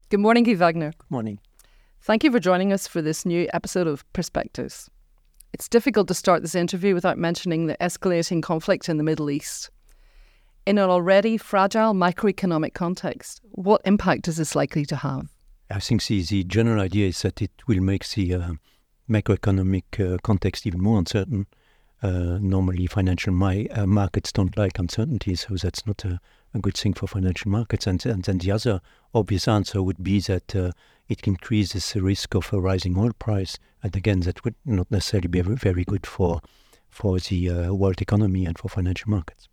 Good morning, Guy Wagner. Good morning. Thank you for joining us for this new episode of Perspectives. It's difficult to start this interview without mentioning the escalating conflict in the Middle East. In an already fragile macroeconomic context, what impact is this likely to have? I think the general idea is that it will make the macroeconomic context even more uncertain. Normally, financial markets don't like uncertainty, so that's not a good thing for financial markets. And then the other obvious answer would be that it increases the risk of a rising oil price. And again, that would not necessarily be very good for the world economy and for financial markets.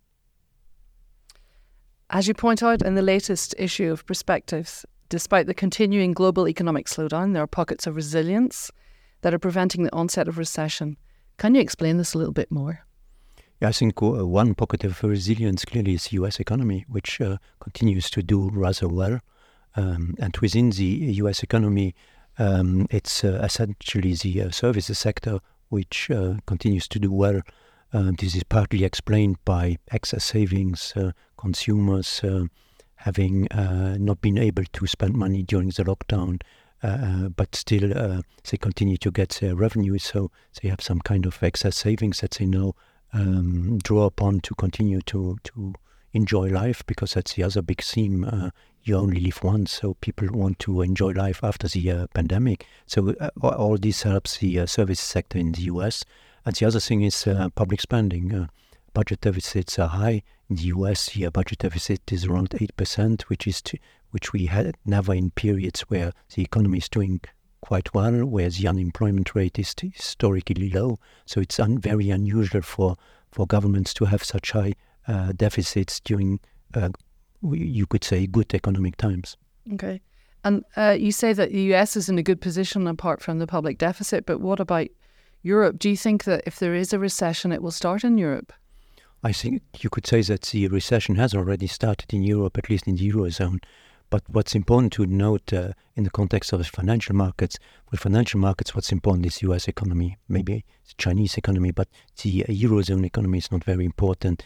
As you point out in the latest issue of Perspectives, despite the continuing global economic slowdown, there are pockets of resilience that are preventing the onset of recession. Can you explain this a little bit more? Yeah, I think one pocket of resilience clearly is the US economy, which continues to do rather well. And within the US economy, it's essentially the services sector which continues to do well. This is partly explained by excess savings, consumers having not been able to spend money during the lockdown, but still they continue to get their revenue, so they have some kind of excess savings that they now draw upon to continue to enjoy life, because that's the other big theme. You only live once, so people want to enjoy life after the pandemic. So all this helps the services sector in the US. And the other thing is public spending. Budget deficits are high. In the US, the budget deficit is around 8%, which we had never in periods where the economy is doing quite well, where the unemployment rate is historically low. So it's very unusual for governments to have such high deficits during, you could say, good economic times. Okay. And you say that the US is in a good position apart from the public deficit, but what about Europe? Do you think that if there is a recession, it will start in Europe? I think you could say that the recession has already started in Europe, at least in the Eurozone. But what's important to note in the context of the financial markets, with financial markets, what's important is the US economy, maybe the Chinese economy, but the Eurozone economy is not very important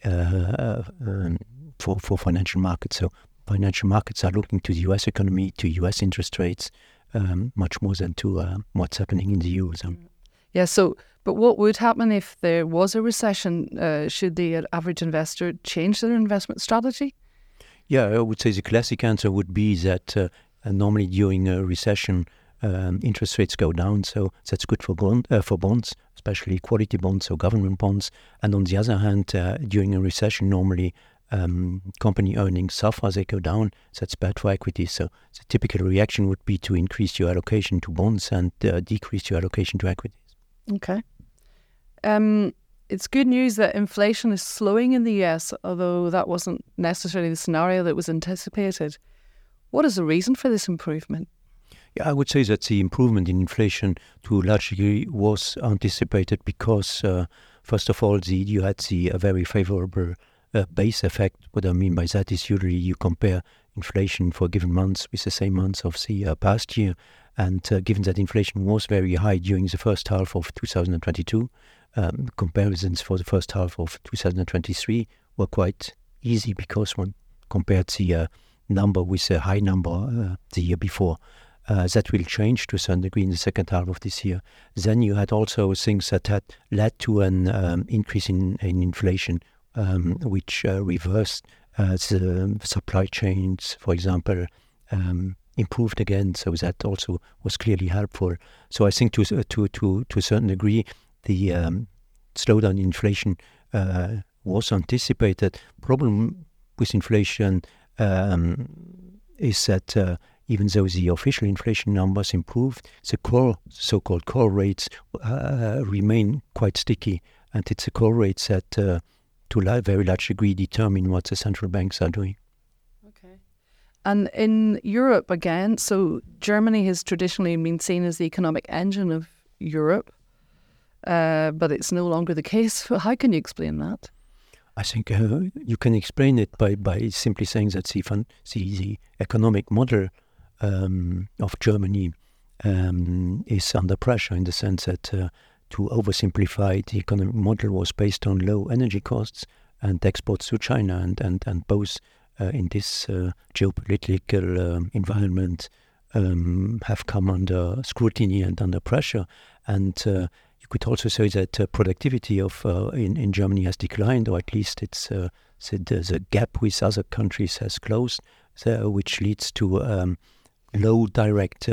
for financial markets. So financial markets are looking to the US economy, to US interest rates, much more than to what's happening in the Eurozone. Yeah, but what would happen if there was a recession? Should the average investor change their investment strategy? Yeah, I would say the classic answer would be that normally during a recession, interest rates go down, so that's good for bonds, especially quality bonds or government bonds. And on the other hand, during a recession, normally company earnings suffer, they go down, so that's bad for equities. So the typical reaction would be to increase your allocation to bonds and decrease your allocation to equities. Okay. It's good news that inflation is slowing in the US, although that wasn't necessarily the scenario that was anticipated. What is the reason for this improvement? Yeah, I would say that the improvement in inflation to a large degree was anticipated because, first of all, you had the very favorable base effect. What I mean by that is usually you compare inflation for given months with the same months of the past year. And given that inflation was very high during the first half of 2022, comparisons for the first half of 2023 were quite easy because one compared the number with a high number the year before. That will change to a certain degree in the second half of this year. Then you had also things that had led to an increase in inflation, which reversed the supply chains, for example, improved again. So that also was clearly helpful. So I think to a certain degree, the slowdown in inflation was anticipated. Problem with inflation is that even though the official inflation numbers improved, the so-called core rates remain quite sticky, and it's the core rates that to a very large degree determine what the central banks are doing. Okay. And in Europe again, so Germany has traditionally been seen as the economic engine of Europe, but it's no longer the case. How can you explain that? I think you can explain it by simply saying that the economic model of Germany is under pressure, in the sense that to oversimplify, the economic model was based on low energy costs and exports to China, and both in this geopolitical environment have come under scrutiny and under pressure. And you could also say that productivity in Germany has declined, or at least it's the gap with other countries has closed, which leads to low direct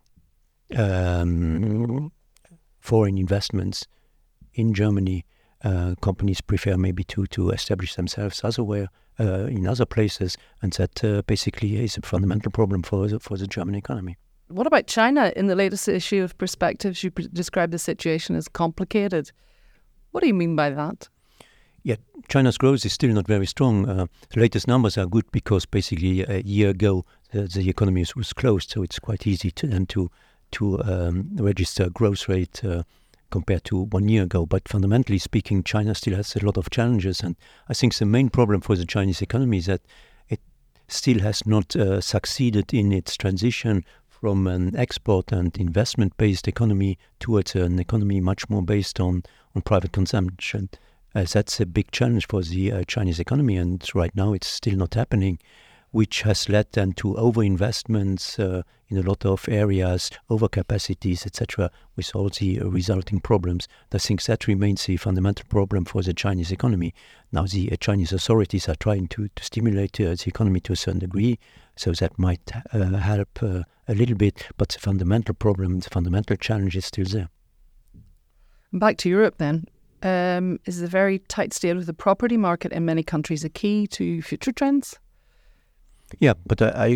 foreign investments in Germany. Companies prefer maybe to establish themselves elsewhere in other places, and that basically is a fundamental problem for the German economy. What about China? In the latest issue of Perspectives, you described the situation as complicated. What do you mean by that? Yeah, China's growth is still not very strong. The latest numbers are good because basically a year ago the economy was closed, so it's quite easy to register growth rate compared to 1 year ago. But fundamentally speaking, China still has a lot of challenges, and I think the main problem for the Chinese economy is that it still has not succeeded in its transition from an export and investment-based economy towards an economy much more based on private consumption. That's a big challenge for the Chinese economy, and right now it's still not happening, which has led then to overinvestments in a lot of areas, overcapacities, etc., with all the resulting problems. I think that remains the fundamental problem for the Chinese economy. Now the Chinese authorities are trying to stimulate the economy to a certain degree, so that might help a little bit, but the fundamental problem, the fundamental challenge is still there. Back to Europe then. Is the very tight state of the property market in many countries a key to future trends? Yeah, but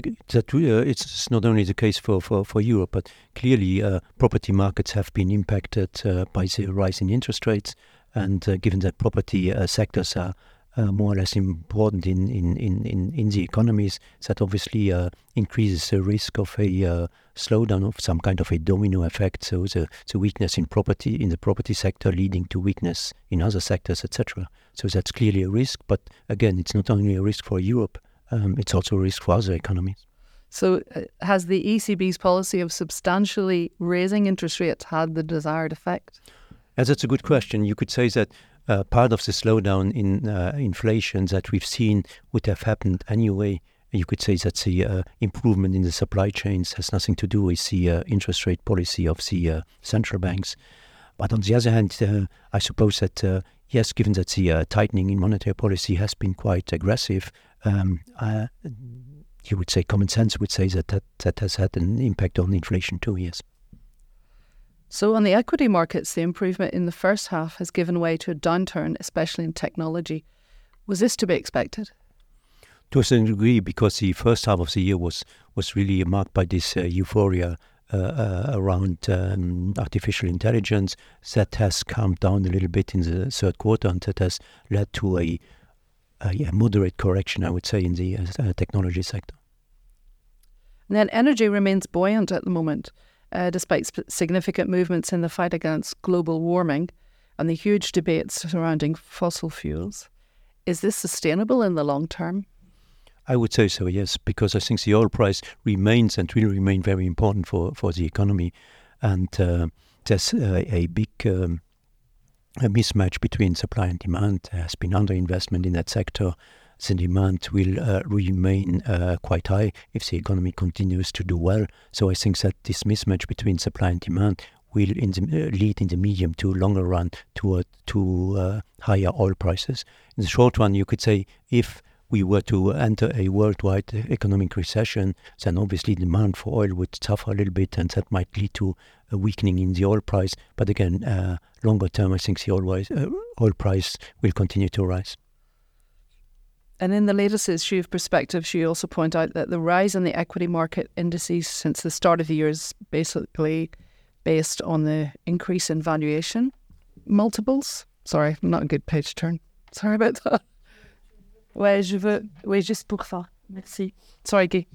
it's not only the case for Europe, but clearly property markets have been impacted by the rise in interest rates, and given that property sectors are more or less important in the economies, that obviously increases the risk of a slowdown, of some kind of a domino effect. So the weakness in the property sector leading to weakness in other sectors, etc. So that's clearly a risk. But again, it's not only a risk for Europe, it's also a risk for other economies. So has the ECB's policy of substantially raising interest rates had the desired effect? That's a good question. You could say that part of the slowdown in inflation that we've seen would have happened anyway. You could say that the improvement in the supply chains has nothing to do with the interest rate policy of the central banks. But on the other hand, I suppose that, yes, given that the tightening in monetary policy has been quite aggressive, you would say common sense would say that has had an impact on inflation too, yes. So on the equity markets, the improvement in the first half has given way to a downturn, especially in technology. Was this to be expected? To a certain degree, because the first half of the year was really marked by this euphoria around artificial intelligence that has calmed down a little bit in the third quarter, and that has led to a moderate correction, I would say, in the technology sector. And then energy remains buoyant at the moment, despite significant movements in the fight against global warming and the huge debates surrounding fossil fuels. Is this sustainable in the long term? I would say so, yes, because I think the oil price remains and will remain very important for the economy. And there's a big a mismatch between supply and demand. There has been underinvestment in that sector. The demand will remain quite high if the economy continues to do well. So I think that this mismatch between supply and demand will lead in the medium to longer run to higher oil prices. In the short run, you could say if we were to enter a worldwide economic recession, then obviously demand for oil would suffer a little bit, and that might lead to a weakening in the oil price. But again, longer term, I think the oil price will continue to rise. And in the latest issue of Perspectives, you also point out that the rise in the equity market indices since the start of the year is basically based on the increase in valuation multiples. Sorry, not a good page turn. Sorry about that. Ouais, juste pour ça. Merci. Sorry, Guy.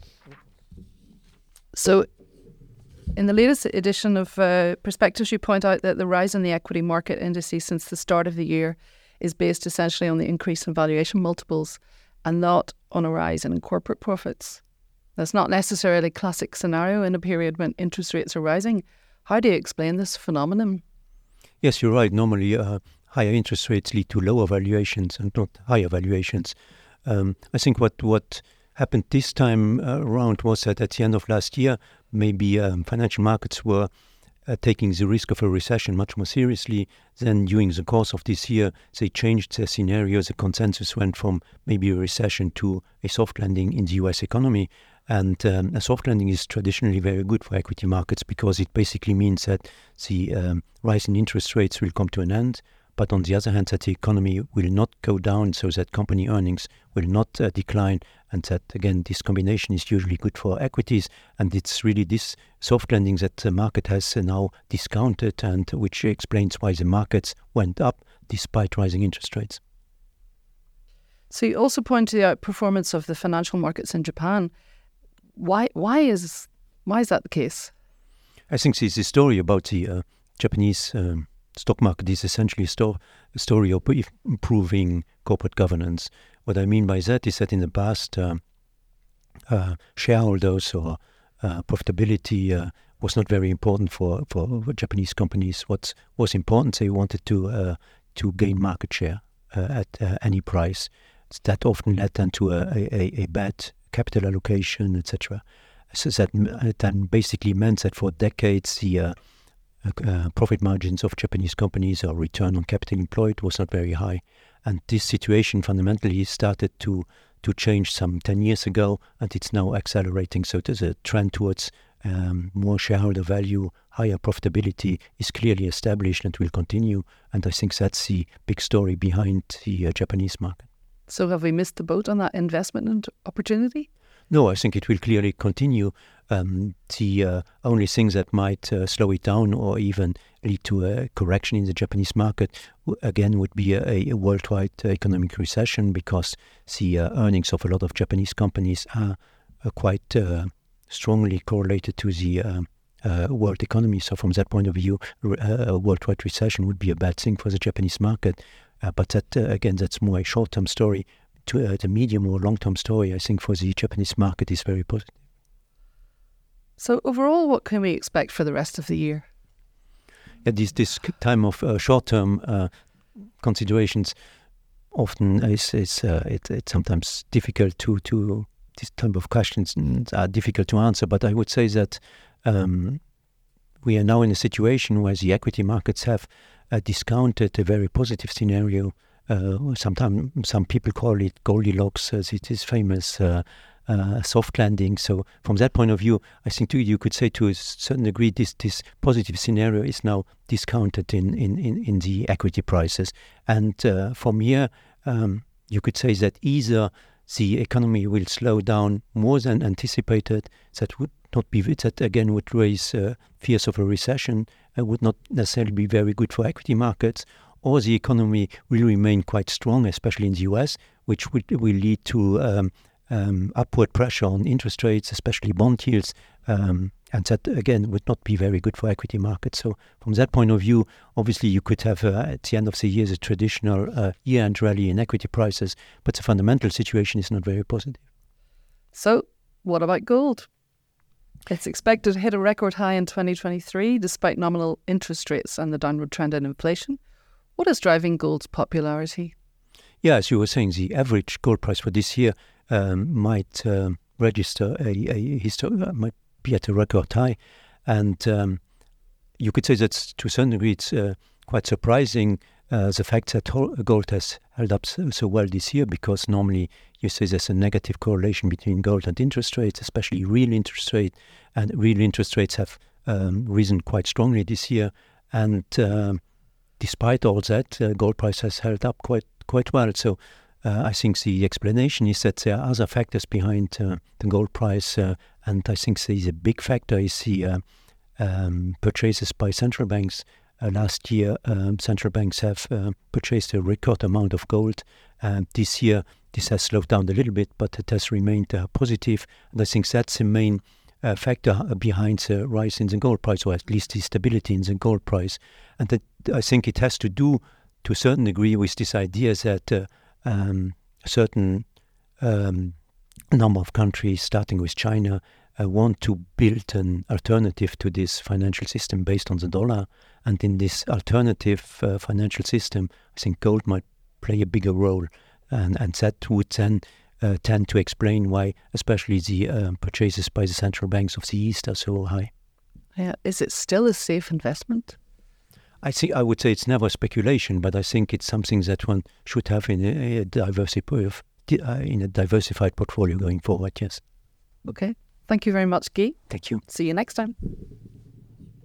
So, in the latest edition of Perspectives, you point out that the rise in the equity market indices since the start of the year is based essentially on the increase in valuation multiples and not on a rise in corporate profits. That's not necessarily a classic scenario in a period when interest rates are rising. How do you explain this phenomenon? Yes, you're right. Normally, higher interest rates lead to lower valuations and not higher valuations. I think what happened this time around was that at the end of last year, maybe financial markets were taking the risk of a recession much more seriously. Then during the course of this year, they changed their scenario. The consensus went from maybe a recession to a soft landing in the US economy. And a soft landing is traditionally very good for equity markets because it basically means that the rise in interest rates will come to an end. But on the other hand, that the economy will not go down, so that company earnings will not decline, and that, again, this combination is usually good for equities. And it's really this soft landing that the market has now discounted, and which explains why the markets went up despite rising interest rates. So you also point to the outperformance of the financial markets in Japan. Why is that the case? I think this story about the Japanese stock market is essentially a story of improving corporate governance. What I mean by that is that in the past, shareholders or profitability was not very important for Japanese companies. What was important, they wanted to gain market share at any price. That often led then to a bad capital allocation, etc. So that basically meant that for decades the profit margins of Japanese companies or return on capital employed was not very high. And this situation fundamentally started to change some 10 years ago, and it's now accelerating. So there's a trend towards more shareholder value, higher profitability is clearly established and will continue. And I think that's the big story behind the Japanese market. So have we missed the boat on that investment opportunity? No, I think it will clearly continue. The only things that might slow it down or even lead to a correction in the Japanese market, again, would be a worldwide economic recession, because the earnings of a lot of Japanese companies are quite strongly correlated to the world economy. So from that point of view, a worldwide recession would be a bad thing for the Japanese market. But that, again, that's more a short-term story. To the medium or long-term story, I think, for the Japanese market is very positive. So overall, what can we expect for the rest of the year? Yeah, this time of short-term considerations often it's sometimes difficult to this type of questions are difficult to answer. But I would say that we are now in a situation where the equity markets have discounted a very positive scenario. Sometimes some people call it Goldilocks, as it is famous soft landing. So from that point of view, I think you could say to a certain degree this positive scenario is now discounted in the equity prices. And from here, you could say that either the economy will slow down more than anticipated. That would not be, that again would raise fears of a recession, would not necessarily be very good for equity markets, or the economy will remain quite strong, especially in the US, which will lead to upward pressure on interest rates, especially bond yields, and that again would not be very good for equity markets. So from that point of view, obviously you could have at the end of the year a traditional year-end rally in equity prices, but the fundamental situation is not very positive. So what about gold? It's expected to hit a record high in 2023 despite nominal interest rates and the downward trend in inflation. What is driving gold's popularity? Yeah, as you were saying, the average gold price for this year might register might be at a record high, and you could say that to a certain degree it's quite surprising the fact that gold has held up so well this year, because normally you say there's a negative correlation between gold and interest rates, especially real interest rate, and real interest rates have risen quite strongly this year, and despite all that, gold price has held up quite well. So I think the explanation is that there are other factors behind the gold price, and I think the big factor is the purchases by central banks. Last year, central banks have purchased a record amount of gold. This year, this has slowed down a little bit, but it has remained positive. And I think that's the main factor behind the rise in the gold price, or at least the stability in the gold price. And that, I think it has to do, to a certain degree, with this idea that a certain number of countries, starting with China, want to build an alternative to this financial system based on the dollar. And in this alternative financial system, I think gold might play a bigger role. and that would then tend to explain why, especially the purchases by the central banks of the East are so high. Yeah. Is it still a safe investment? I would say it's never speculation, but I think it's something that one should have in a diversified portfolio going forward. Yes. Okay. Thank you very much, Guy. Thank you. See you next time.